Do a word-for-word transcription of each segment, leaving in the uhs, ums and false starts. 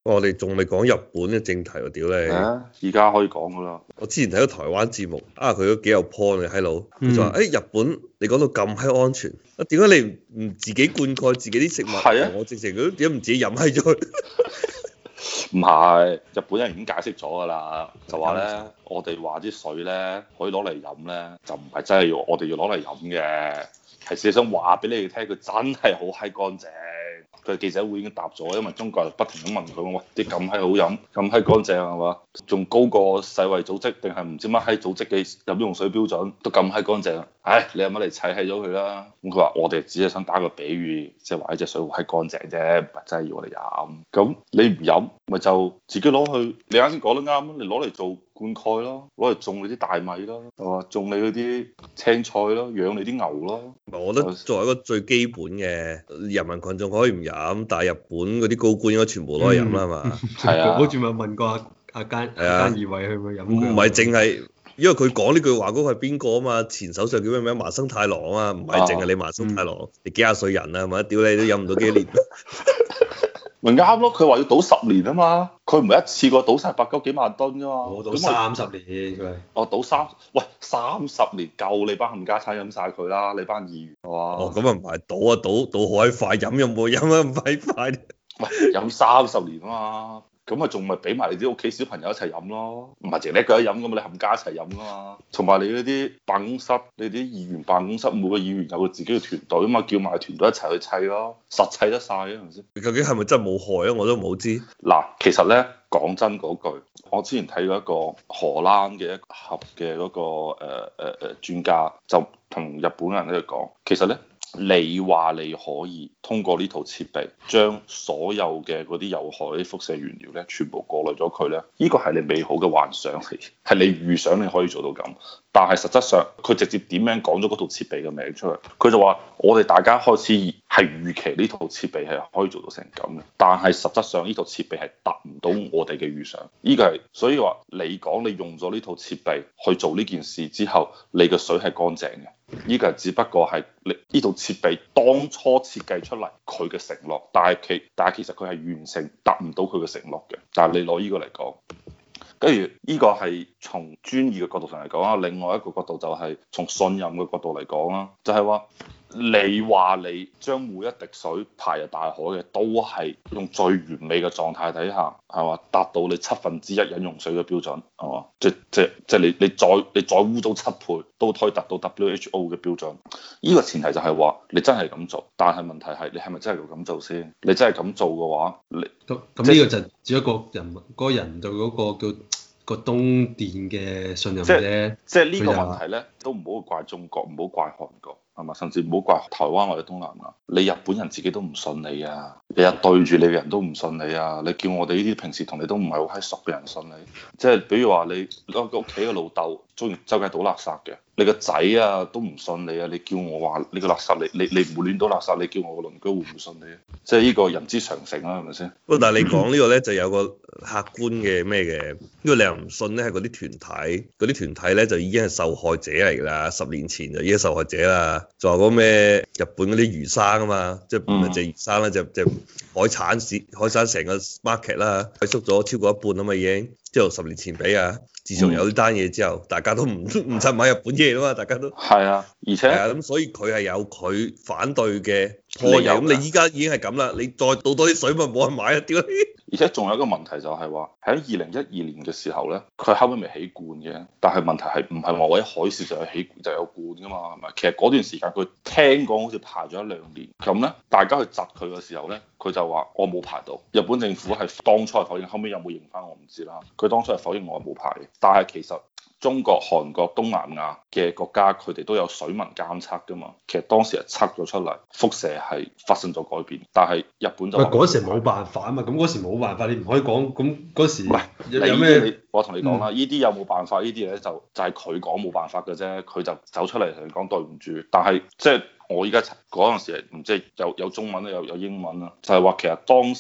我哋仲未講日本嘅正題喎，屌你！ 啊，而家可以講噶啦。 我之前睇咗台灣節目，啊佢都幾有 point 嘅閪佬，佢就話：誒、 嗯欸、日本你講到咁閪安全，啊點解你唔自己灌溉自己啲食物？ 係啊， 我直情都點解唔自己飲閪咗佢？ 唔係，日本人已經解釋咗噶啦，就話咧，我哋話啲水咧可以攞嚟飲咧，就唔係真係要我哋要攞嚟飲嘅，係事實上話俾你哋聽，佢真係好閪乾淨。佢記者會已經答咗，因為中國人不停咁問佢：喂，啲咁閪好飲，咁閪乾淨係嘛？仲高過世衛組織定係唔知乜閪組織嘅飲用水標準，都咁閪乾淨。唉，你有乜嚟砌閪咗佢啦？咁佢話：我哋只係想打個比喻，即係話呢隻水好閪乾淨啫，唔係真係要我哋飲。咁你唔飲，咪就自己攞去。你啱先講得啱，你攞嚟做灌溉咯，攞嚟種你啲大米咯，係嘛？種你嗰啲青菜咯，養你啲牛咯。 我覺得作為一個最基本嘅人民群眾可以唔飲，但係日本嗰啲高官應該全部攞嚟飲啦嘛。 係啊， 好似咪問過阿阿菅菅義偉去唔去飲？ 唔係淨係，因為佢講呢句話嗰個係邊個啊嘛？前首相叫咩名？麻生太郎啊，唔係淨係你麻生太郎，啊、你幾廿歲人啊，係咪？屌你都飲唔到幾年。 咪啱咯，佢話要賭十年啊嘛，佢唔係一次過賭晒百九幾萬噸噶嘛， 我賭三十年佢。 我賭三，喂三十年夠你班冚家鏟飲晒佢啦，你班議員係嘛？ 哦，咁啊唔係賭啊賭賭好閪快，飲有冇飲啊咁閪快？ 喂，飲三十年啊嘛，咁啊仲咪俾埋你啲屋企小朋友一齊飲咯，唔係淨你一個人飲噶嘛，你冚家一齊飲噶嘛，同埋你嗰啲辦公室，你啲議員辦公室每個議員有佢自己嘅團隊啊嘛，叫埋團隊一齊去砌咯，實砌得晒啊，係咪先？ 究竟係咪真係冇害啊？我都冇知。 嗱，其實咧講真嗰句，我之前睇過一個荷蘭嘅一盒嘅嗰個誒誒誒專家，就同日本人喺度講，其實咧。你話你可以通過呢套設備將所有嘅嗰啲有害啲輻射原料咧，全部過濾咗佢咧，呢個係你美好嘅幻想嚟，係你預想你可以做到咁。但係實質上佢直接點樣講咗嗰套設備嘅名出嚟，佢就話我哋大家開始係預期呢套設備係可以做到成咁嘅，但係實質上呢套設備係達唔到我哋嘅預想。呢個係所以話你講你用咗呢套設備去做呢件事之後，你嘅水係乾淨嘅。呢個只不過係你呢套設備當初設計出嚟佢嘅承諾，但係其但係其實佢係完成達唔到佢嘅承諾嘅。但係你攞呢個嚟講，跟住呢個係從專業嘅角度上嚟講啦，另外一個角度就係從信任嘅角度嚟講啦，就係話。你話你將每一滴水排入大海嘅，都係用最完美嘅狀態底下，係嘛，達到你七分之一飲用水嘅標準，係嘛？即即即你你再你再污糟七倍，都可以達到 W H O 嘅標準。呢個前提就係話你真係咁做，但係問題係你係咪真係要咁做先？你真係咁做嘅話，你咁咁呢個就只一個人嗰、嗰個人對嗰個叫個東電嘅信任啫。 即係呢個問題咧，都唔好怪中國，唔好怪韓國。係嘛？甚至唔好怪台灣或者東南亞，你日本人自己都唔信你啊！日日對住你嘅人都唔信你啊！你叫我哋呢啲平時同你都唔係好閪熟嘅人信你，即係比如話你屋屋企嘅老豆中意周街倒垃圾嘅，你個仔啊都唔信你啊！你叫我話你個垃圾你你你唔會亂倒垃圾，你叫我個鄰居會唔會信你啊？即係呢個人之常情啦，係咪先？ 不過但係你講呢個咧就有個客觀嘅咩嘅，因為你又唔信咧係嗰啲團體，嗰啲團體咧就已經係受害者嚟㗎啦，十年前就已經係受害者啦。仲有嗰咩日本嗰啲魚生啊嘛，即係唔係隻魚生啦，就就海產市海產成個 market 啦，萎縮咗超過一半啊嘛已經，即係十年前比啊。自從有呢單嘢之後，大家都唔唔趁買日本嘢啦嘛，大家都係啊，而且係啊，咁所以佢係有佢反對嘅理由。咁你依家已經係咁啦，你再倒多啲水咪冇人買啊！屌！ 而且仲有一個問題就係話喺二零一二年嘅時候咧，佢後尾未起罐嘅，但係問題係唔係話我喺海事就有起就有罐噶嘛？係咪？其實嗰段時間佢聽講好似排咗一兩年，咁咧大家去窒佢嘅時候咧，佢就話我冇排到。日本政府係當初係否認，後尾有冇認翻我唔知啦。佢當初係否認我冇排嘅，但係其實中國、韓國、東南亞嘅國家佢哋都有水文監測噶嘛。其實當時係測咗出嚟，輻射係發生咗改變，但係日本就喂嗰時冇辦法啊嘛，咁嗰時冇辦法，你唔可以講咁嗰時唔係有咩？ 你我同你講啦，呢啲、嗯、有冇辦法？呢啲嘢就就係佢講冇辦法嘅啫，佢就走出嚟同你講對唔住。但係即係我依家嗰陣時唔知有有中文咧，有有英文啦，就係、是、話其實當時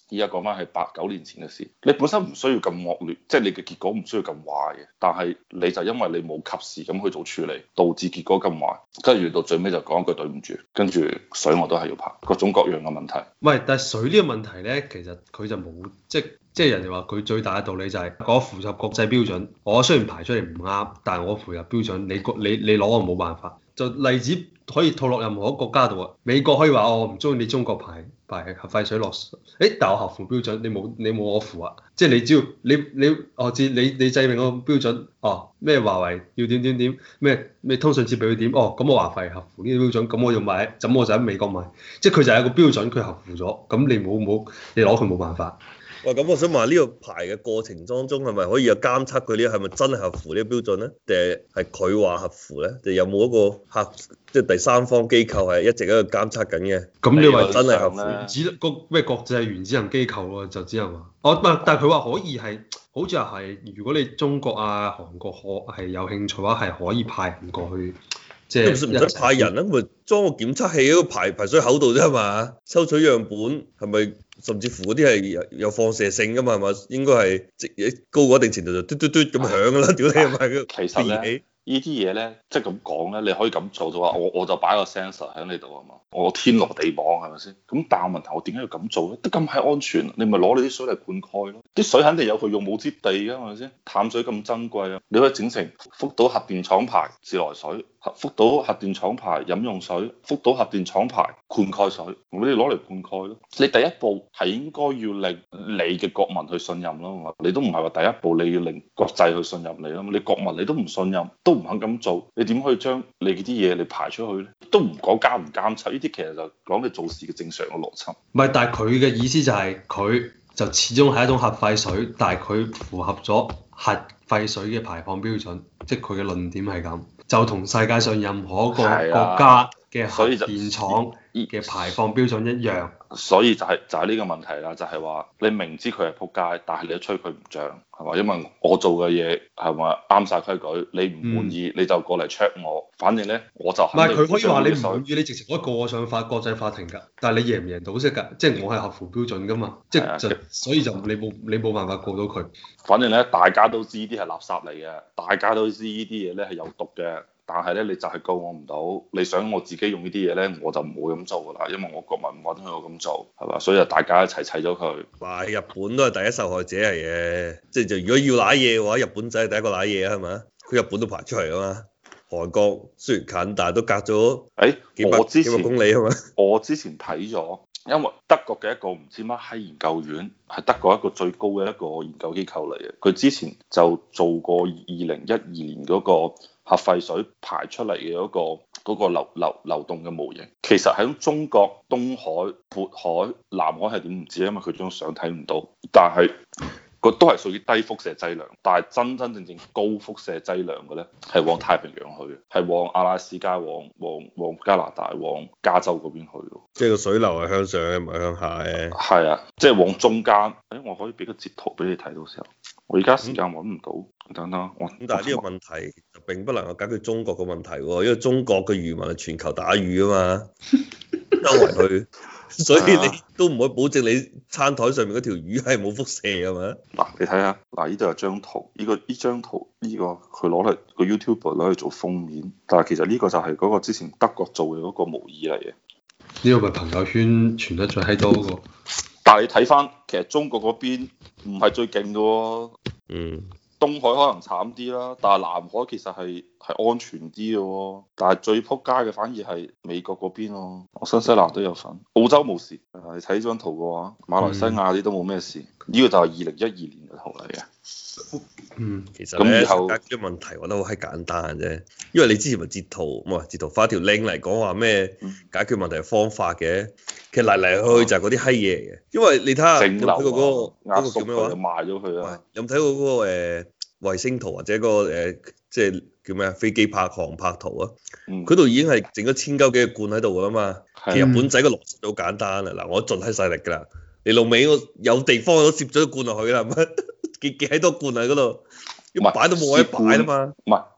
依家講翻係八九年前嘅事，你本身唔需要咁惡劣，即係你嘅結果唔需要咁壞嘅，但係你就因為你冇及時咁去做處理，導致結果咁壞，跟住到最尾就講一句對唔住，跟住水我都係要排，各種各樣嘅問題。 喂，但係水呢個問題咧，其實佢就冇即係即係人哋話佢最大嘅道理就係我符合國際標準，我雖然排出嚟唔啱，但係我符合標準，你你你攞我冇辦法。就例子可以套落任何一個國家度啊！美國可以話我唔中意你中國排排核廢水落，誒，但我合乎標準，你冇你冇我符啊！即係你只要你你我知你你制定個標準，哦咩華為要點點點，咩咩通訊設備要點，哦咁我華為合乎呢個標準，咁我要買，咁我就喺美國買，即係佢就係一個標準，佢合乎咗，咁你冇冇你攞佢冇辦法。 喂，咁我想問呢個排嘅過程當中係咪可以有監測佢呢？係咪真係合乎呢個標準咧？定係係佢話合乎咧？定有冇一個客即係第三方機構係一直喺度監測緊嘅？ 咁你話真係合乎？ 原子個咩國際原子能機構喎，就只係話，我唔係，但係佢話可以係，好似係如果你中國啊、韓國可係有興趣嘅話，係可以派人過去。即係唔使派人啊，咪裝個檢測器喺個排排水口度啫嘛，抽取樣本係咪？甚至乎嗰啲係有有放射性噶嘛，係咪？應該係即高過一定程度就嘟嘟嘟咁響噶啦，屌你係咪？ 其實咧，呢啲嘢咧，即係咁講咧，你可以咁做就話，我我就擺個 sensor 喺你度啊嘛，我天羅地網係咪先？咁但係問題我點解要咁做咧？得咁係安全，你咪攞你啲水嚟灌溉咯。啲水肯定有佢用武之地㗎，係咪先？淡水咁珍貴啊，你可以整成福島核電廠牌自來水。福島核電廠牌飲用水，福島核電廠牌灌溉水，我哋攞嚟灌溉咯。你第一步係應該要令你嘅國民去信任咯，你都唔係話第一步你要令國際去信任你咯。你國民你都唔信任，都唔肯咁做，你點可以將你啲嘢你排出去咧？都唔講監唔監測，呢啲其實就講你做事嘅正常嘅邏輯。 唔係，但係佢嘅意思就係佢就始終係一種核廢水，但係佢符合咗核廢水嘅排放標準，即係佢嘅論點係咁。就同世界上任何一個國家嘅核電廠嘅排放標準一樣， 所以就係就係呢個問題啦，就係話你明知佢係撲街，但係你都吹佢唔漲，係嘛？因為我做嘅嘢係咪啱晒規矩，你唔滿意你就過嚟 check 我，反正咧我就唔係佢可以話你唔滿意，你直情可以告我上法國際法庭㗎，但係你贏唔贏到識㗎？即係我係合乎標準㗎嘛，即係就所以就你冇你冇辦法告到佢。 反正咧大家都知呢啲係垃圾嚟嘅，大家都知呢啲嘢咧係有毒嘅。但係咧，你就係告我唔到。你想我自己用呢啲嘢咧，我就唔會咁做噶啦，因為我國民唔允許我咁做，係嘛？所以就大家一齊砌咗佢。 哇！日本都係第一受害者嚟嘅，即係就如果要揦嘢嘅話，日本仔係第一個揦嘢啊，係咪？佢日本都排出嚟啊嘛。韓國雖然近，但係都隔咗誒幾百幾百公里啊嘛。 我之前睇咗，因為德國嘅一個唔知乜閪研究院係德國一個最高嘅一個研究機構嚟嘅，佢之前就做過二零一二年嗰個核廢水排出嚟嘅嗰個嗰個流流流動嘅模型，其實喺中國東海、渤海、南海係點唔知，因為佢張相睇唔到，但係佢都係屬於低輻射劑量，但係真真正正高輻射劑量嘅咧係往太平洋去嘅，係往阿拉斯加、往往往加拿大、往加州嗰邊去嘅。 即係個水流係向上嘅，唔係向下嘅。 係啊，即係往中間。誒，我可以俾個截圖俾你睇到時候。我而家時間揾唔到，嗯、等等我。 咁但係呢個問題就並不能夠解決中國嘅問題喎，因為中國嘅漁民係全球打魚啊嘛，周圍去，所以你都唔可以保證你餐台上面嗰條魚係冇輻射啊嘛。 嗱，你睇下，嗱，呢度有張圖，呢、這個呢張圖呢、這個佢攞嚟個 YouTube 攞嚟做封面，但係其實呢個就係嗰個之前德國做嘅嗰個模擬嚟嘅。 呢個咪朋友圈傳得最閪多嗰個。 但係你睇翻，其實中國嗰邊唔係最勁嘅喎。 嗯。 東海可能慘啲啦，但係南海其實係係安全啲嘅喎。但係最撲街嘅反而係美國嗰邊咯。我新西蘭都有份，澳洲冇事。你睇呢張圖嘅話，馬來西亞啲都冇咩事。呢、嗯、個就係二零一二年嘅圖嚟嘅。 嗯，其實咧，解決啲問題我覺得好閪簡單啫。因為你之前咪截圖，唔係截圖發條 link 嚟講話咩解決問題嘅方法嘅。其實嚟嚟去去就係嗰啲閪嘢嚟嘅。因為你睇下有冇睇過嗰個嗰個叫咩話？ 賣咗佢啊！ 有冇睇過嗰個誒衛星圖或者嗰個誒即係叫咩啊？飛機拍航拍圖啊？佢度、嗯、已經係整咗千鳩幾個罐喺度噶啦嘛。其實日本仔個邏輯好簡單啊！嗱，我盡閪勢力㗎啦，你老尾我有地方我都攝咗個罐落去啦，係咪？幾幾閪多罐喺嗰度，要擺都冇位擺啦嘛。 唔係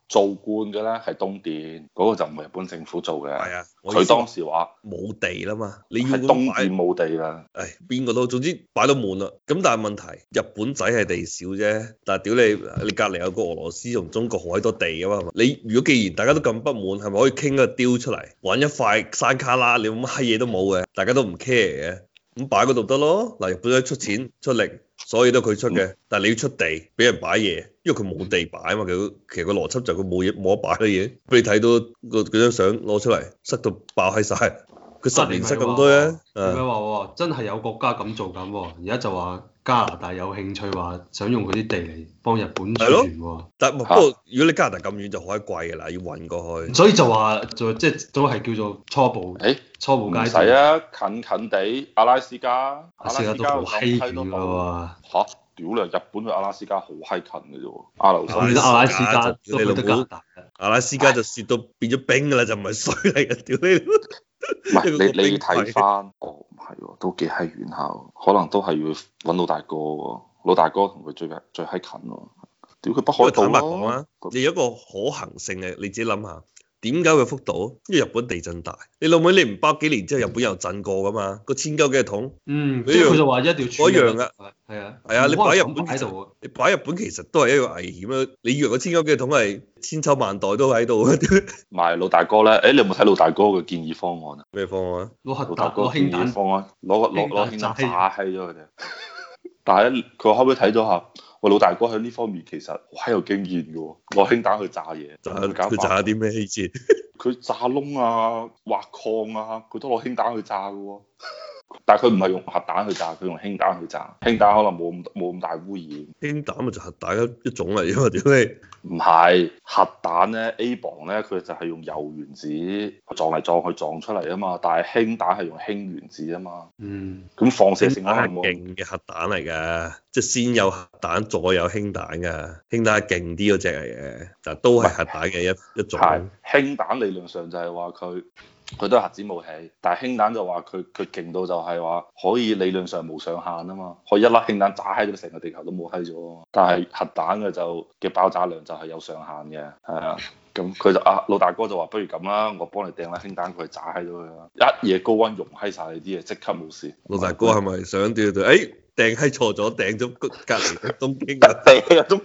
做官嘅咧係東電，嗰、那個就唔係日本政府做嘅。 係啊， 佢當時話冇地啦嘛，你要係東電冇地啦。 誒邊個都總之擺到滿啦。咁但係問題，日本仔係地少啫，但係屌你，你隔離有個俄羅斯同中國好閪多地啊嘛。你如果既然大家都咁不滿，係咪可以傾個 deal 出嚟，揾一塊山卡拉，你乜閪嘢都冇嘅，大家都唔 care 嘅，咁擺嗰度得咯。嗱，日本仔出錢出力。所以都佢出嘅，但係你要出地俾人擺嘢，因為佢冇地擺啊嘛。佢其實個邏輯就係佢冇嘢冇得擺嘅嘢，俾你睇到個嗰張相攞出嚟，塞到爆閪晒。佢十年塞咁多咧。 點解話真係有國家咁做緊喎？而家就話加拿大有興趣話想用嗰啲地嚟幫日本儲存喎。 但不過、啊、如果你加拿大咁遠就好閪貴㗎啦，要運過去。 所以就話就即係都係叫做初步。誒、欸，初步階段。 唔使啊，近近地阿拉斯加。 阿拉斯加都好閪遠㗎喎。 嚇！屌你，日本去阿拉斯加好閪近嘅啫喎，阿留申。 阿拉斯加都去得加拿大。 阿拉斯加就雪到變咗冰㗎啦，就唔係水嚟嘅，屌你！ 唔係你你睇翻，哦唔係喎，都幾閪遠下，可能都係要揾老大哥喎，老大哥同佢最最閪近喎。屌佢北海道咯。 你有一個可行性嘅，你自己諗下。點解會福島？因為日本地震大，你老妹你唔包幾年之後，日本又震過噶嘛？個千鳩幾桶， 嗯，即係佢就話一定要嗰樣噶， 係啊， 係啊，你擺日本喺度， 你擺日本其實都係一個危險啊！你以為個千鳩幾桶係千秋萬代都喺度？ 唔係老大哥咧，誒你有冇睇老大哥嘅建議方案啊？ 咩方案？ 攞核老大哥建議方案，攞個攞攞氫彈炸閪咗佢哋。但係咧，佢後尾睇咗下。我老大哥喺呢方面其實好閪有經驗嘅喎，攞氫彈去炸嘢， 佢炸啲咩先？ 佢炸窿啊、挖礦啊，佢都攞氫彈去炸嘅喎。但係佢唔係用核彈去炸，佢用氫彈去炸。氫彈可能冇咁冇咁大污染。氫彈咪就核彈一一種嚟啫嘛，屌你！ 唔係核彈咧 ，A 磅咧佢就係用鈾原子撞嚟撞去撞出嚟啊嘛，但係氫彈係用氫原子啊嘛。 嗯。 咁放射性可能係勁嘅核彈嚟㗎，即係先有核彈再有氫彈㗎。氫彈係勁啲嗰隻嚟嘅，但都係核彈嘅一一種。 係氫彈理論上就係話佢。佢都係核子武器，但係氫彈就話佢佢勁到就係話可以理論上無上限啊嘛，可以一粒氫彈炸閪咗成個地球都冇閪咗啊嘛。但係核彈嘅就嘅爆炸量就係有上限嘅，係啊。咁佢就啊老大哥就話不如咁啦，我幫你掟粒氫彈佢炸閪咗佢啦，一夜高溫溶閪晒你啲嘢，即刻冇事。 老大哥係咪想掉掉？誒掟閪錯咗，掟咗隔離嘅東京啊！ 掟啊東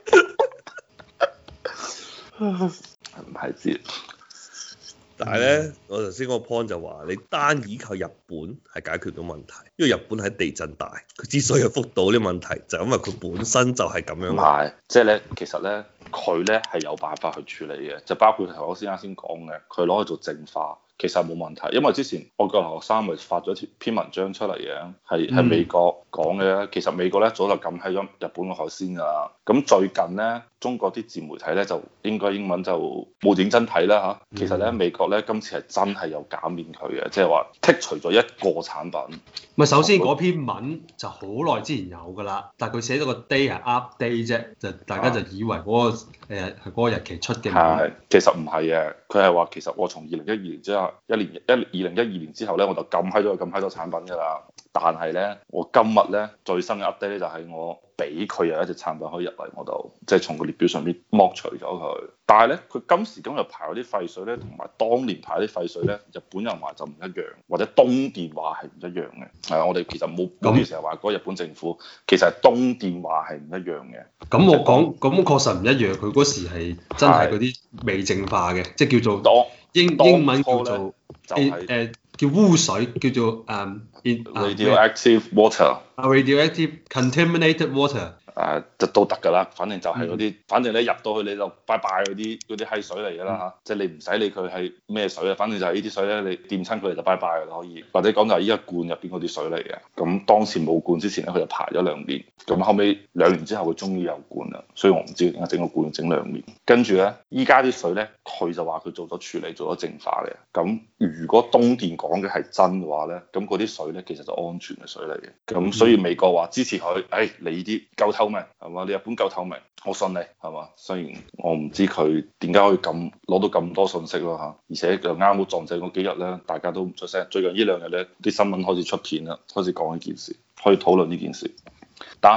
京，唔係知。 但係咧，我頭先嗰個 point 就話，你單依靠日本係解決到問題，因為日本喺地震大，佢之所以有福島呢問題，就係因為佢本身就係咁樣。唔係，即係咧，其實咧，佢咧係有辦法去處理嘅，就包括頭先啱先講嘅，佢攞去做淨化。其實冇問題，因為之前我個留學生咪發咗篇文章出嚟嘅，係係美國講嘅。其實美國咧早就禁喺咗日本嘅海鮮㗎啦。咁最近咧，中國啲自媒體咧就應該英文就冇認真睇啦嚇。其實咧，美國咧今次係真係有減免佢嘅，即係話剔除咗一個產品。 咪首先嗰篇文就好耐之前有㗎啦，但係佢寫咗個 day 係 update 啫，就大家就以為嗰、嗰個誒係嗰個日期出嘅。 係，其實唔係嘅，佢係話其實我從二零一二年之後。一年一二零一二年之後咧，我就禁閪咗佢禁閪多產品㗎啦。但係咧，我今日咧最新嘅 update 咧就係我俾佢有一隻產品可以入嚟我度，即係從個列表上邊剝除咗佢。但係咧，佢今時今日排嗰啲廢水咧，同埋當年排啲廢水咧，日本人話就唔一樣，或者東電話係唔一樣嘅。係啊，我哋其實冇嗰啲成日話嗰日本政府，其實係東電話係唔一樣嘅。 咁我講咁確實唔一樣，佢嗰時係真係嗰啲未淨化嘅，即係叫做當英英文叫做。就係、是、誒、uh, 叫污水，叫做誒、um, radioactive water，radioactive contaminated water。 誒就都得㗎啦，反正就係嗰啲，反正你入到去你就拜拜嗰啲嗰啲閪水嚟㗎啦嚇，即係你唔使理佢係咩水啊，反正就係呢啲水咧，你掂親佢哋就拜拜㗎啦可以，或者講就係依家罐入邊嗰啲水嚟嘅。咁當時冇罐之前咧，佢就排咗兩年，咁後尾兩年之後佢終於有罐啦，所以我唔知點解整個罐整兩年。跟住咧，依家啲水咧，佢就話佢做咗處理，做咗淨化嘅。咁如果東電講嘅係真嘅話咧，咁嗰啲水咧其實就安全嘅水嚟嘅。咁所以美國話支持佢，誒、哎、你呢啲夠透明係嘛？你日本夠透明，我信你係嘛？雖然我唔知佢點解可以咁攞到咁多信息咯嚇，而且就啱好撞正嗰幾日咧，大家都唔出聲。最近呢兩日咧，啲新聞開始出片啦，開始講呢件事，可以討論呢件事。但係咧，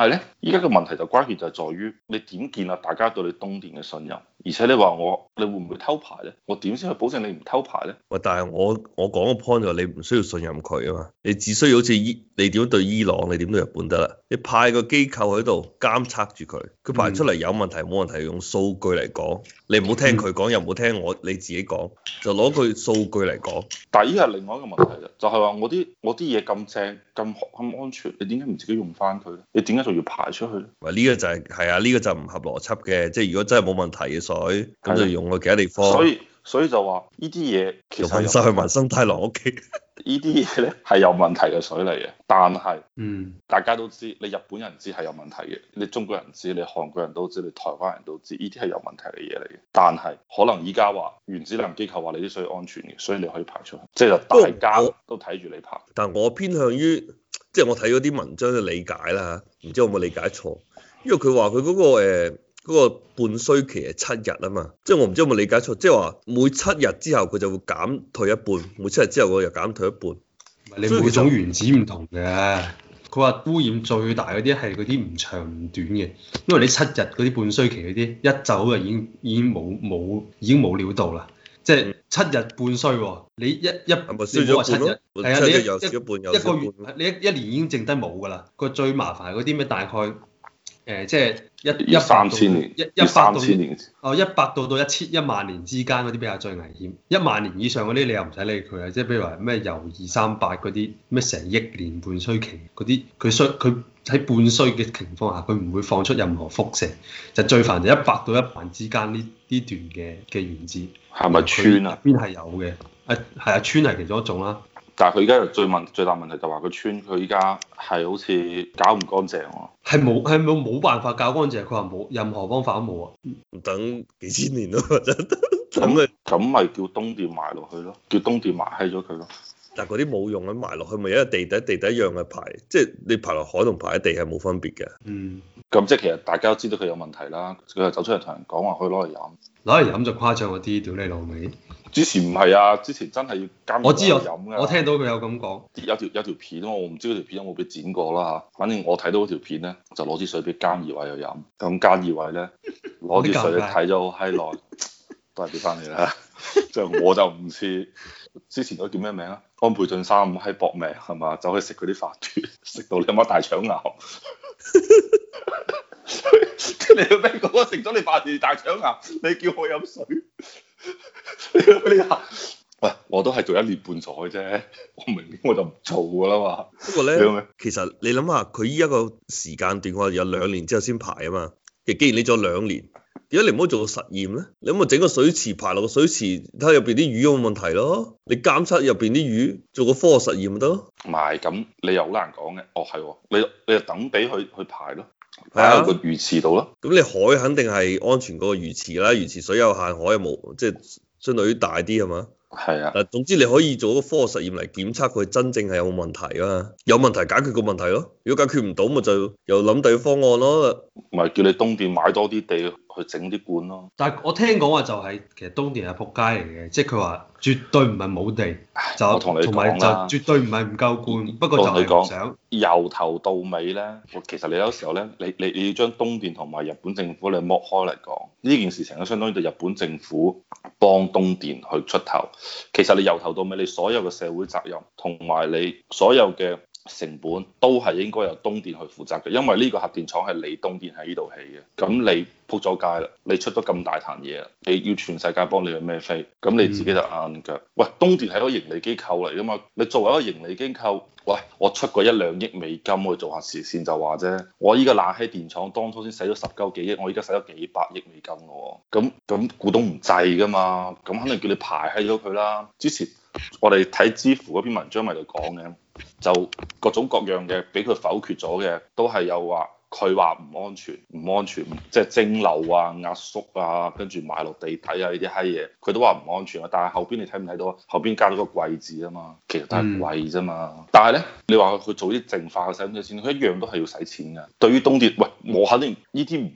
依家嘅問題就關鍵就係在於你點建立大家對你東電嘅信任，而且你話我你會唔會偷牌咧？我點先去保證你唔偷牌咧？ 喂，但係我我講個 point 就係你唔需要信任佢啊嘛，你只需要好似伊你點樣對伊朗，你點對日本得啦。你派個機構喺度監測住佢，佢排出嚟有問題冇問題，用數據嚟講，你唔好聽佢講，又唔好聽我你自己講，就攞佢數據嚟講。 但係依個係另外一個問題啫，就係話我啲我啲嘢咁正咁咁安全，你點解唔自己用翻佢咧？你點解仲要排出去咧？ 喂，呢個就係係啊，呢個就唔合邏輯嘅，即係如果真係冇問題嘅水，咁就用去其他地方。 所以所以就話呢啲嘢其實運晒去埋生太郎屋企。 呢啲嘢咧係有問題嘅水嚟嘅，但係嗯， 大家都知，你日本人知係有問題嘅，你中國人知，你韓國人都知，你台灣人都知，呢啲係有問題嘅嘢嚟嘅。但係可能依家話原子能機構話你啲水安全嘅，所以你可以排出去，即係大家都睇住你排。 但我偏向於即係我睇嗰啲文章嘅理解啦，唔知我有冇理解錯？因為佢話佢嗰個誒嗰個半衰期係七日啊嘛，即係我唔知有冇理解錯，即係話每七日之後佢就會減退一半，每七日之後佢又減退一半。 你每種原子唔同嘅，佢話污染最大嗰啲係嗰啲唔長唔短嘅，因為你七日嗰啲半衰期嗰啲一走就已經已經冇冇已經冇料到啦，即係七日半衰喎，你一一係咪衰咗一半咯？ 係啊，你一又少一半又一個少一月半， 你一一年已經剩低冇㗎啦。個最麻煩嗰啲咩大概誒、呃、即係一一三千年， 一一百到千年哦一百到到一千一萬年之間嗰啲比較最危險，一萬年以上嗰啲你又唔使理佢啊，即係譬如話咩鈾二三八嗰啲咩成億年半衰期嗰啲，佢衰佢喺半衰嘅情況下，佢唔會放出任何輻射，就最煩就一百到一萬之間呢呢段嘅嘅原子。 係咪氚啊？ 邊係有嘅？誒係啊，氚係其中一種啦。 但係佢而家最問最大問題就話個氚佢依家係好似搞唔乾淨喎。 係冇係冇冇辦法搞乾淨，佢話冇任何方法都冇啊！ 等幾千年咯，真咁咪咁咪叫東電埋落去咯，叫東電埋閪咗佢咯。 但係嗰啲冇用咁埋落去，咪一個地底地底一樣嘅排，即係你排落海同排喺地係冇分別嘅。 嗯， 咁即係其實大家都知道佢有問題啦，佢就走出嚟同人講話可以攞嚟飲， 攞嚟飲就誇張嗰啲，屌你老味！ 之前唔係啊，之前真係要監我知我飲㗎。 我聽到佢有咁講， 有條有條片我唔知嗰條片有冇俾剪過啦嚇。反正我睇到嗰條片咧，就攞支水俾菅義偉去飲。咁菅義偉咧攞支水睇咗好閪耐，都係俾翻你啦。就我就唔似之前嗰叫咩名啊？安倍晉三咁閪搏命係嘛？走去食嗰啲飯團，食到你阿媽大腸癌。你個咩講？食咗你飯團大腸癌，你叫我飲水？你下，喂，我都係做一年半載啫，我明年我就唔做噶啦嘛。 不過咧，其實你諗下，佢依一個時間段，我有兩年之後先排啊嘛。其實既然你做兩年，點解你唔好做個實驗咧？你可唔可以整個水池排落個水池，睇下入邊啲魚有冇問題咯？你監測入邊啲魚，做個科學實驗咪得咯？ 唔係，咁你又好難講嘅。哦，係，你你就等俾佢去排咯，擺喺個魚池度咯。 咁你海肯定係安全過個魚池啦，魚池水有限，海又冇，即係相對於大啲係嘛？ 係啊。 嗱，總之你可以做個科學實驗嚟檢測佢真正係有冇問題啊嘛，有問題解決個問題咯。如果解決唔到，咪就又諗第二個方案咯。 咪叫你東電買多啲地去整啲罐咯。 但係我聽講話就係、是、其實東電係仆街嚟嘅，即係佢話絕對唔係冇地，就我同你同埋講啦， 就絕對唔係唔夠罐，不過就係唔想。 由頭到尾咧，其實你有時候咧，你你你要將東電同埋日本政府你剝開嚟講，呢件事情咧相當於對日本政府幫東電去出頭。其實你由頭到尾，你所有嘅社會責任同埋你所有嘅成本都係應該由東電去負責嘅，因為呢個核電廠係你東電喺呢度起嘅。咁你撲咗街啦，你出咗咁大壇嘢啦，你要全世界幫你去孭飛，咁你自己就硬腳。喂，東電係一個盈利機構嚟噶嘛，你作為一個盈利機構，喂，我出過一兩億美金去做下慈善就話啫，我依個冷氣電廠當初先使咗十鳩幾億，我依家使咗幾百億美金咯，咁咁股東唔制噶嘛，咁肯定叫你排閪咗佢啦。之前我哋睇知乎嗰篇文章咪就講嘅，就各種各樣嘅俾佢否決咗嘅，都係有話佢話唔安全，唔安全，即係蒸餾啊、壓縮啊，跟住埋落地底啊呢啲閪嘢，佢都話唔安全啊。但係後邊你睇唔睇到啊？後邊加咗個貴字啊嘛，其實都係貴啫嘛。嗯、但係咧，你話佢做啲淨化嘅使唔使錢？佢一樣都係要使錢㗎。對於東電，喂，我肯定呢啲唔係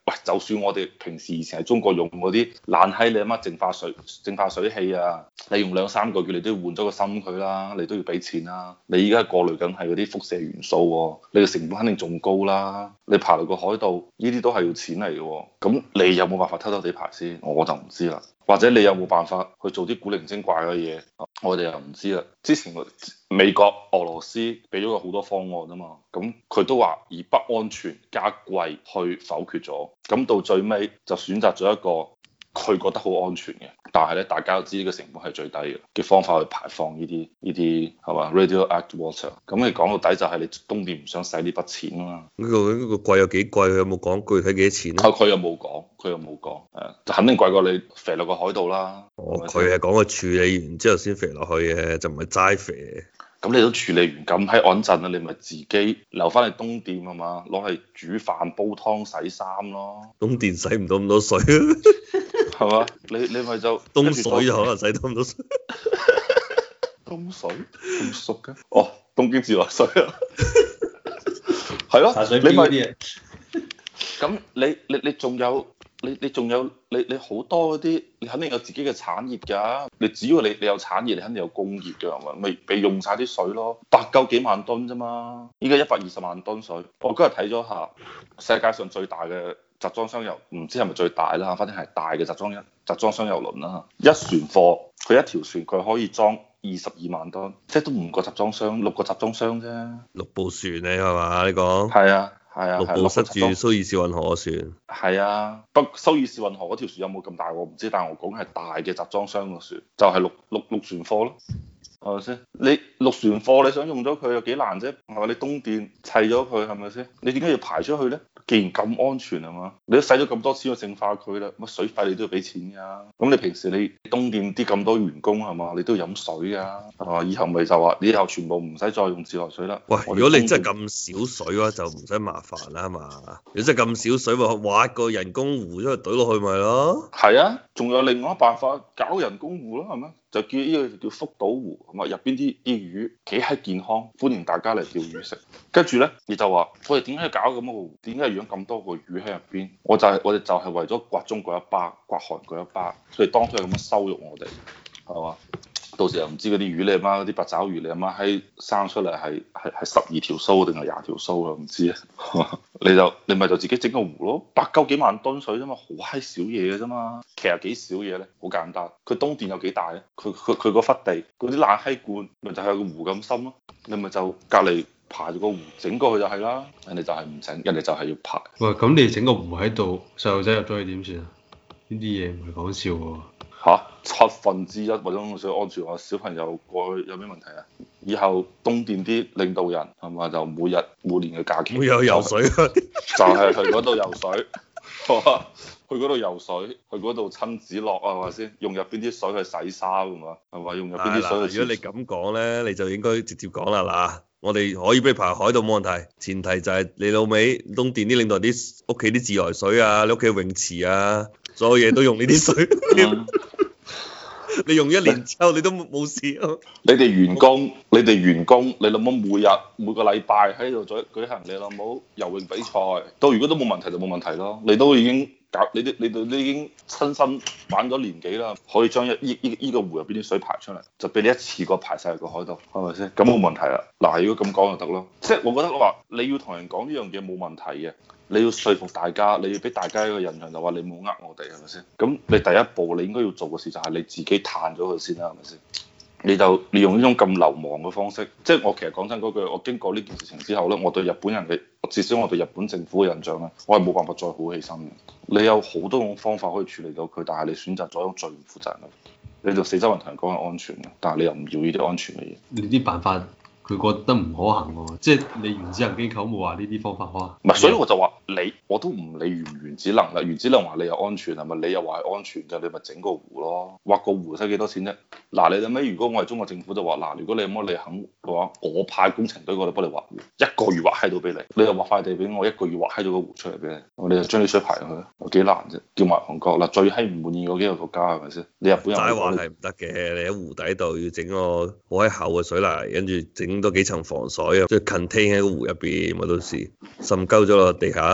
喂，就算我哋平時以前喺中國用嗰啲爛閪你阿媽淨化水淨化水器啊，你用兩三個月你都要換咗個芯佢啦，你都要俾錢啦。你依家過濾緊係嗰啲輻射元素喎，你嘅成本肯定仲高啦。你爬到個海度，呢啲都係要錢嚟嘅喎。咁你有冇辦法偷偷地排先？我就唔知啦。或者你有冇辦法去做啲古靈精怪嘅嘢？我哋又唔知啦。之前美國、俄羅斯俾咗個好多方案啊嘛，咁佢都話以不安全加貴去否決咗，咁到最尾就選擇咗一個佢覺得好安全嘅，但係咧大家都知呢個成本係最低嘅嘅方法去排放呢啲呢啲係嘛 radioactive water。咁你講到底就係你東電唔想使呢筆錢啊嘛。 呢個呢個貴有幾貴？佢有冇講具體幾多錢咧？ 啊，佢又冇講，佢又冇講，係就肯定貴過你肥落個海度啦。 哦，佢係講佢處理完之後先肥落去嘅，就唔係齋肥。 咁你都處理完咁喺穩陣啦，你咪自己留翻去東電係嘛，攞嚟煮飯、煲湯、洗衫咯。 東電使唔到咁多水， 係嘛？你你咪就東水就可能使到咁多水。 東水咁熟嘅？哦，東京自來水啊，係咯，你咪咁你你你仲有？你你仲有你你好多嗰啲，你肯定有自己嘅產業㗎。你只要你你有產業，你肯定有工業㗎，係咪？咪俾用晒啲水咯，百鳩幾萬噸啫嘛。依家一百二十萬噸水。我今日睇咗下世界上最大嘅集裝箱油，唔知係咪最大啦，反正係大嘅集裝一集裝箱油輪啦。一船貨佢一條船佢可以裝二十二萬噸，即係都五個集裝箱，六個集裝箱啫。 六部船你係嘛？你講係啊。係啊， 六部塞住蘇伊士運河嘅船。係啊，不過蘇伊士運河嗰條船有冇咁大我唔知，但係我講係大嘅集裝箱嘅船，就係、是、六六六船貨咯，係咪先？你六船貨你想用咗佢有幾難啫？係咪？你東電砌咗佢係咪先？你點解要排出去咧？既然咁安全係嘛，你都使咗咁多錢去淨化佢啦，乜水費你都要俾錢㗎。咁你平時你東電啲咁多員工係嘛，你都要飲水㗎，係嘛？以後咪就話你以後全部唔使再用自來水啦。 喂，如果你真係咁少水嘅話，就唔使麻煩啦，係嘛？如果真係咁少水，咪挖個人工湖出去懟落去咪咯。 係啊，仲有另外一個辦法搞人工湖咯，係咪？就叫呢個叫福島湖，係嘛？入邊啲啲魚幾閪健康，歡迎大家嚟釣魚食。跟住咧，你就話我哋點解要搞咁個湖？點解要養咁多個魚喺入邊？我就係、是、我哋就係為咗刮中國一巴，刮韓國一巴，所以當初係咁樣羞辱我哋，係嘛？到時又唔知嗰啲魚你阿媽嗰啲八爪魚你阿媽喺生出嚟係係係十二條鬚定係廿條鬚啊？唔知啊，你就你咪就自己整個湖咯，百鳩幾萬噸水啫嘛，好閪少嘢嘅啫嘛。其實幾少嘢咧，好簡單。佢東電有幾大咧？佢佢佢嗰忽地嗰啲爛閪罐咪就係個湖咁深咯。你咪就隔離排住個湖整過去就係啦。人哋就係唔整，人哋就係要排。 喂，咁你整個湖喺度，細路仔入咗去點算啊？呢啲嘢唔係講笑喎。 嚇，七分之一或者水安全話小朋友過去有咩問題啊？以後東電啲領導人係咪就每日每年嘅假期會有游水， 就係去嗰度游水，去嗰度游水，去嗰度親子樂啊，係咪先？用入邊啲水去洗衫係嘛？係咪用入邊啲水去？ 如果你咁講咧，你就應該直接講啦嗱。我哋可以俾你排海度冇問題，前提就係你老味東電啲領導啲屋企啲自來水啊，你屋企泳池啊，所有嘢都用呢啲水。嗯你用一年之後你都冇事啊！ 你哋員工，你哋員工，你諗冇每日每個禮拜喺度舉舉行你諗冇游泳比賽，到如果都冇問題就冇問題咯。你都已經搞，你啲你哋都已經親身玩咗年幾啦，可以將一依依依個湖入邊啲水排出嚟，就俾你一次過排晒入個海度，係咪先？咁冇問題啦。嗱，如果咁講就得咯。即係我覺得話你要同人講呢樣嘢冇問題嘅。你要說服大家，你要俾大家一個印象就話你冇呃我哋係咪先？咁你第一步你應該要做嘅事就係你自己嘆咗佢先啦，係咪先？你就你用呢種咁流氓嘅方式，即係我其實講真嗰句，我經過呢件事情之後咧，我對日本人嘅至少我對日本政府嘅印象咧，我係冇辦法再好起身嘅。你有好多種方法可以處理到佢，但係你選擇咗一種最唔負責任嘅，你就四周圍同人講係安全嘅，但係你又唔要呢啲安全嘅嘢。 你啲辦法。佢覺得唔可行喎，即係你原子能機構冇話呢啲方法可行。 唔係，所以我就話你，我都唔理原唔原子能啦。原子能話你又安全係咪？你又話係安全嘅，你咪整個湖咯，挖個湖使幾多錢啫？嗱，你諗下，如果我係中國政府就話，嗱，如果你咁你肯嘅話，我派工程隊過嚟幫你挖湖，一個月挖閪到俾你，你又挖塊地俾我，一個月挖閪咗個湖出嚟俾你，我哋就將啲水排入去，有幾難啫？叫埋韓國嗱，最閪唔滿意嗰幾個國家係咪先？你日本人齋話係唔得嘅，你喺湖底度要整個好閪厚嘅水泥，跟住整多幾層防水啊，即係 contain 喺個湖入邊，咪到時滲鳩咗落地下，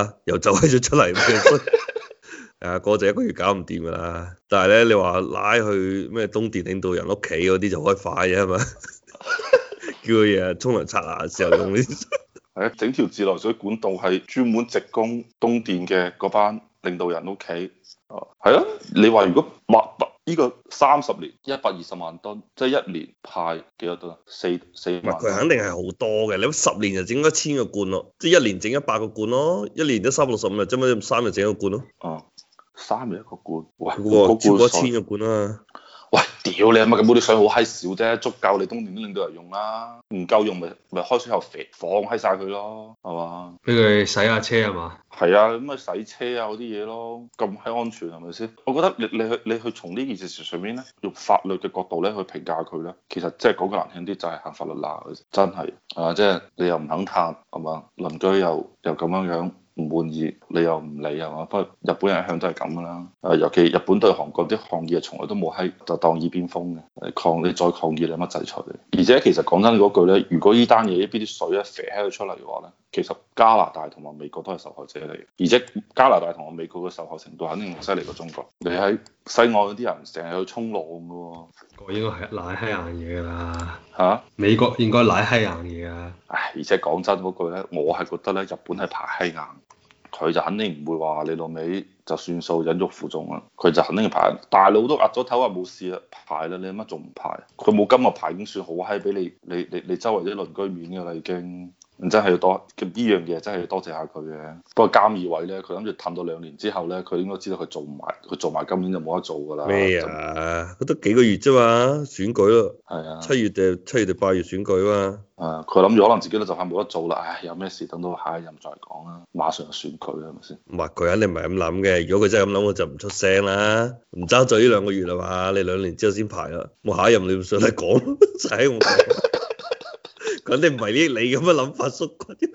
啊，又走閪咗出嚟咩？誒，嗰就一個月搞唔掂噶啦。但係咧，你話拉去咩東電領導人屋企嗰啲就開快啫係嘛？叫佢日日沖涼刷牙嘅時候用呢啲。 係啊，整條自來水管道係專門直供東電嘅嗰班領導人屋企。哦，係啊，你話如果百百呢個三十年一百二十萬噸，即係一年派幾多噸啊？四四萬。 佢肯定係好多嘅，你諗十年就整一千個罐咯，即係一年整一百個罐咯，一年得三百六十五日啫嘛，三日整一個罐咯。 哦，三日一個罐，喂， 嗰個超過一水千個罐啊！ 喂，屌你啊！咪咁嗰啲水好閪少啫，足夠你東電啲領導人用啦。唔夠用咪咪開水喉肥放閪晒佢咯，係嘛？ 俾佢洗下車係嘛？ 係啊，咁咪洗車啊嗰啲嘢咯，咁閪安全係咪先？我覺得你你去你去從呢件事上面咧，用法律嘅角度咧去評價佢咧，其實即係講句難聽啲，就係行法律罅，真係啊！即係你又唔肯嘆係嘛，鄰居又又咁樣樣。唔滿意，你又唔理係嘛？不過日本人一向都係咁噶啦。誒，尤其日本對韓國啲抗議，從來都冇喺就當耳邊風嘅。抗你再抗議，你乜制裁你？而且其實講真嗰句咧，如果呢單嘢呢邊啲水一射喺佢出嚟嘅話咧，其實加拿大同埋美國都係受害者嚟。而且加拿大同埋美國嘅受害程度肯定犀利過中國。你喺西岸嗰啲人成日去衝浪嘅喎。 個應該係賴閪硬嘢㗎啦。 嚇、啊？ 美國應該賴閪硬嘢啊！ 唉，而且講真嗰句咧，我係覺得咧，日本係排閪硬。佢就肯定唔會話你老味就算數忍辱負重啦，佢就肯定排。大佬都壓咗頭話冇事啦，排啦，你乜仲唔排？佢冇今日排已經算好閪俾你，你你你周圍啲鄰居面㗎啦已經。真係要多，呢樣嘢真係要多謝下佢嘅。不過菅義偉咧，佢諗住氹到兩年之後咧，佢應該知道佢做唔埋，佢做埋今年就冇得做㗎啦。 咩啊？佢得幾個月啫嘛，選舉咯。係啊。七月定七月定八月選舉啊嘛。 誒，佢諗住可能自己都就快冇得做啦。唉，有咩事等到下一任再講啦。馬上就選舉係咪先？ 唔係，佢肯定唔係咁諗嘅。如果佢真係咁諗，我就唔出聲啦。唔爭在呢兩個月啦嘛，你兩年之後先排啦。我下一任你唔上嚟講，就喺我講。肯定唔係呢你咁嘅諗法縮骨。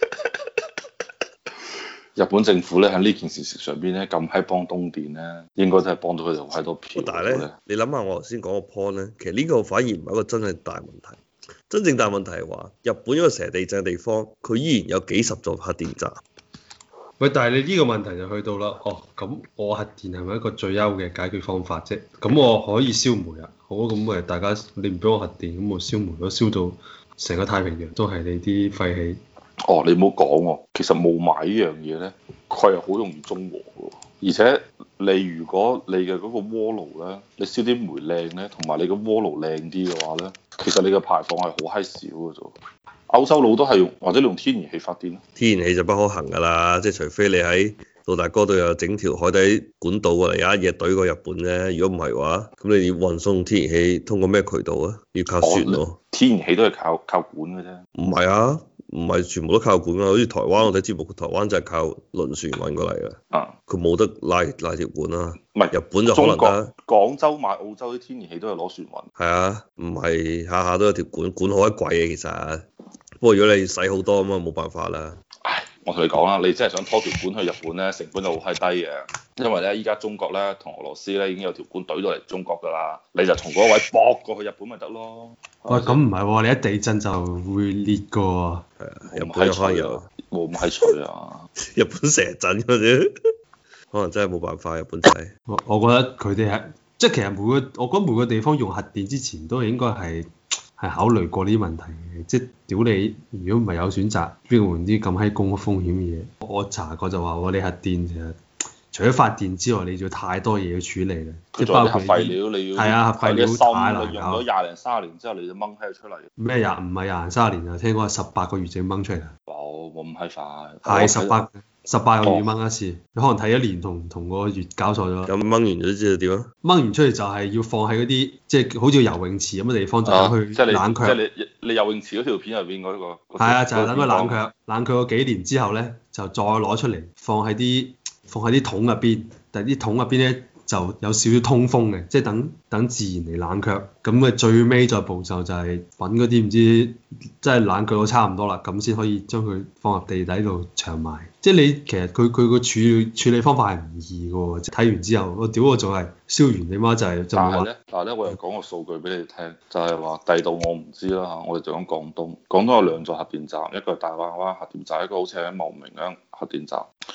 日本政府咧喺呢件事情上邊咧咁喺幫東電咧，應該真係幫到佢哋好多票。 但係咧，你諗下我頭先講個 point 咧，其實呢個反而唔係一個真係大問題。真正大問題係話，日本一個成日地震嘅地方，佢依然有幾十座核電站。 喂，但係你呢個問題就去到啦。哦，咁我核電係咪一個最優嘅解決方法啫？咁我可以燒煤啊。好，咁咪大家你唔俾我核電，咁我燒煤咯，燒到成個太平洋都係你啲廢氣。 哦，你唔好講喎，其實霧霾呢樣嘢咧，佢係好容易中和嘅，而且你如果你嘅嗰個鍋爐咧，你燒啲煤靚咧，同埋你個鍋爐靚啲嘅話咧，其實你嘅排放係好閪少嘅啫。歐洲佬都係用或者用天然氣發電咯。 天然氣就不可行㗎啦，即係除非你喺杜大哥度有整條海底管道過嚟，有一嘢懟過日本啫。如果唔係嘅話，咁你要運送天然氣通過咩渠道啊？要靠船咯、哦。 天然氣都係靠靠管嘅啫。 唔係啊，唔係全部都靠管啊。好似台灣我睇節目，台灣就係靠輪船運過嚟嘅。啊，佢冇得拉拉條管啊。唔係日本就可能得。 廣州買澳洲啲天然氣都係攞船運。 係啊，唔係下下都有條管，管好鬼貴嘅其實。不過如果你使好多咁啊，冇辦法啦。 唉，我同你講啦，你真係想拖條管去日本咧，成本就好閪低嘅。因為咧，依家中國咧同俄羅斯咧已經有條管懟到嚟中國㗎啦，你就從嗰個位駁過去日本咪得咯。 喂，咁唔係喎，你一地震就會裂㗎喎。 係啊，日本有可能有。 冇咁閪脆啊！ 日本成日震嗰啲，可能真係冇辦法。日本仔。 我我覺得佢哋係即係其實每個我覺得每個地方用核電之前都係應該係。係考慮過呢啲問題嘅，即係屌你，如果唔係有選擇，邊個換啲咁閪高風險嘅嘢？我查過就話我哋核電其實除咗發電之外，你仲要太多嘢要處理啦，即係包括核廢料你要， 係啊，核廢料太難搞。 用咗廿零三十年之後，你就掹喺度出嚟。 咩廿唔係廿零三十年啊？聽講係十八個月就掹出嚟啦。 冇冇咁閪快。 係十八十八個月掹一次，哦、你可能睇一年同同個月搞錯咗。 咁掹完咗之後點啊？ 掹完出嚟就係要放喺嗰啲即係好似游泳池咁嘅地方，就等佢冷卻。 即係你即係你，你游泳池嗰條片入邊嗰個。係啊，就係等佢冷卻，冷卻個幾年之後咧，就再攞出嚟放喺啲放喺啲桶入邊，但係啲桶入邊咧就有少少通風嘅，即係等等自然嚟冷卻。咁嘅最尾再步驟就係揾嗰啲唔知即係冷卻到差唔多啦，咁先可以將佢放入地底度長埋。即係你其實佢佢個處理處理方法係唔易嘅喎，睇完之後我屌我仲係燒完你媽就係、是、就話。但係咧， 但係咧，我又講個數據俾你聽，就係話第度我唔知啦嚇，我哋就講廣東，廣東有兩座核電站，一個係大灣灣核電站，一個好似喺茂名嘅核電站。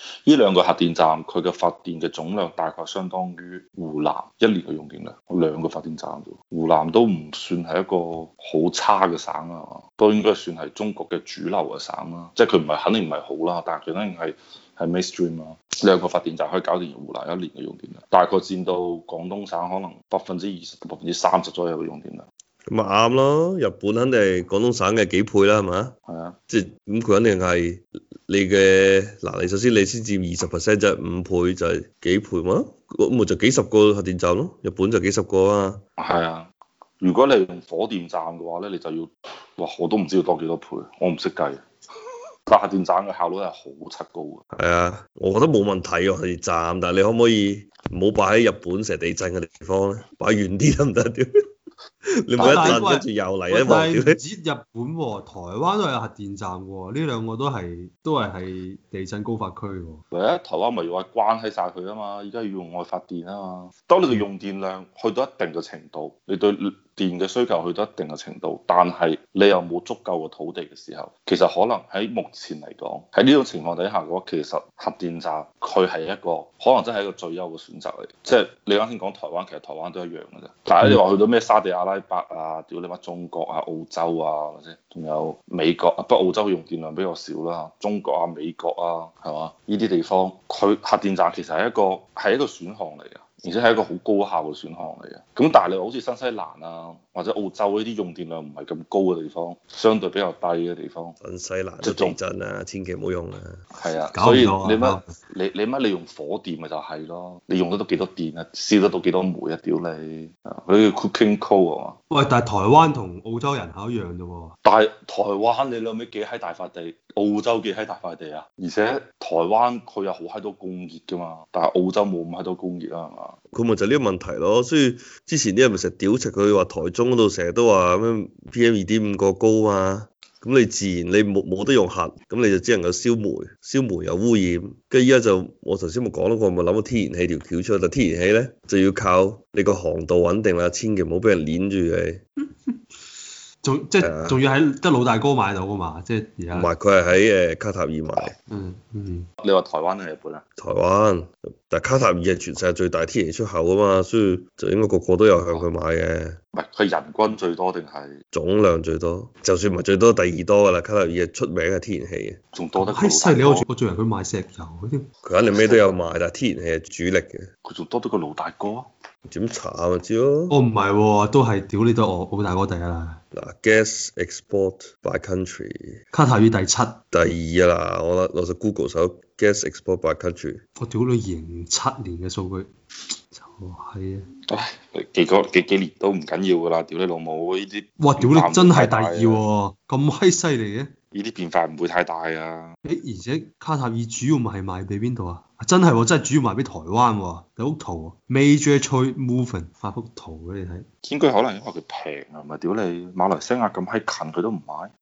呢兩個核電站佢嘅發電嘅總量大概相當於湖南一年嘅用電量。兩個發電站啫，湖南都唔算係一個好差嘅省啊，都應該算係中國嘅主流嘅省啦。即係佢唔係肯定唔係好啦，但係佢肯定係係 mainstream 啊。兩個發電站可以搞掂湖南一年嘅用電量，大概佔到廣東省可能百分之二十到百分之三十左右嘅用電量。 咁咪啱咯，日本肯定係廣東省嘅幾倍啦，係嘛？ 係啊， 即係咁佢肯定係你嘅嗱，你首先你先佔二十 percent 就係五倍，就係幾倍嘛？咁咪就幾十個核電站咯，日本就幾十個啊。 係啊，如果你用火電站嘅話咧，你就要哇，我都唔知要多幾多倍，我唔識計。但核電站嘅效率係好柒高嘅。 係啊，我覺得冇問題喎核電站，但係你可唔可以唔好擺喺日本成日地震嘅地方咧？擺遠啲得唔得？屌！你每一陣跟住又嚟一鑊，屌！ 唔止日本喎，台灣都有核電站喎，呢兩個都係都係係地震高發區喎。 唯一台灣咪要話關喺晒佢啊嘛，而家要用愛發電啊嘛。當你嘅用電量去到一定嘅程度，你對電嘅需求去到一定嘅程度，但係你又冇足夠嘅土地嘅時候，其實可能喺目前嚟講，喺呢種情況底下嘅話，其實核電站佢係一個可能真係一個最優嘅選擇嚟。即係你啱先講台灣，其實台灣都一樣嘅啫。但係你話去到咩沙地阿拉伯啊，屌你媽中國啊、澳洲啊，或者仲有美國啊，不過澳洲用電量比較少啦。中國啊、美國啊，係嘛？呢啲地方佢核電站其實係一個係一個選項嚟嘅。而且係一個好高效嘅選項嚟嘅，咁但係你話好似新西蘭啊或者澳洲呢啲用電量唔係咁高嘅地方，相對比較低嘅地方， 新西蘭都地震啊，千祈唔好用啊。 係啊，所以你乜你你乜你用火電咪就係咯，你用得到幾多電啊，燒得到幾多煤啊，屌你，佢叫 cooking coal 啊嘛。 喂，但係台灣同澳洲人口一樣啫喎。 但係台灣你諗起幾閪大塊地，澳洲幾閪大塊地啊，而且台灣佢有好閪多工業㗎嘛，但係澳洲冇咁閪多工業啊，係嘛？ 佢咪就呢個問題咯，所以之前啲人咪成日屌柒佢話台中嗰度成日都話咩 P M 二點五個高嘛，咁你自然你冇冇得用核，咁你就只能夠燒煤，燒煤有污染，跟住依家就我頭先咪講咯，我咪諗個天然氣條橋出嚟，但天然氣咧就要靠你個航道穩定啦，千祈唔好俾人攆住你。 仲即係仲要喺得老大哥買到噶嘛？即係而家。 唔係，佢係喺誒卡塔爾買。 嗯嗯。 你話台灣定係日本啊？ 台灣，但係卡塔爾係全世界最大天然氣出口啊嘛，所以就應該個個都有向佢買嘅。 唔係，佢人均最多定係總量最多？就算唔係最多，第二多噶啦。卡塔爾係出名係天然氣嘅。 仲多得。 閪犀利！我我仲以為佢賣石油嗰啲。 佢肯定咩都有賣，但係天然氣係主力嘅。 佢仲多得個老大哥。 點查咪知咯？ 哦，唔係喎，都係屌你都我老大哥第一啦。 嗱 ，gas export by country， 卡塔爾第七， 嗯第二啊啦，我攞隻 Google 搜 gas export by country。 我屌你二零七年嘅數據，就係啊！ 唉，幾個幾幾年都唔緊要噶啦，屌你老母呢啲。 哇！屌你真係第二喎，咁閪犀利嘅。 呢啲變化唔會太大啊。 誒，而且卡塔爾主要咪係賣俾邊度啊？真係喎，真係主要賣俾台灣喎。有幅圖，Major Trade Movement 發幅圖俾你睇。 應該可能因為佢平啊，咪屌你馬來西亞咁閪近佢都唔買。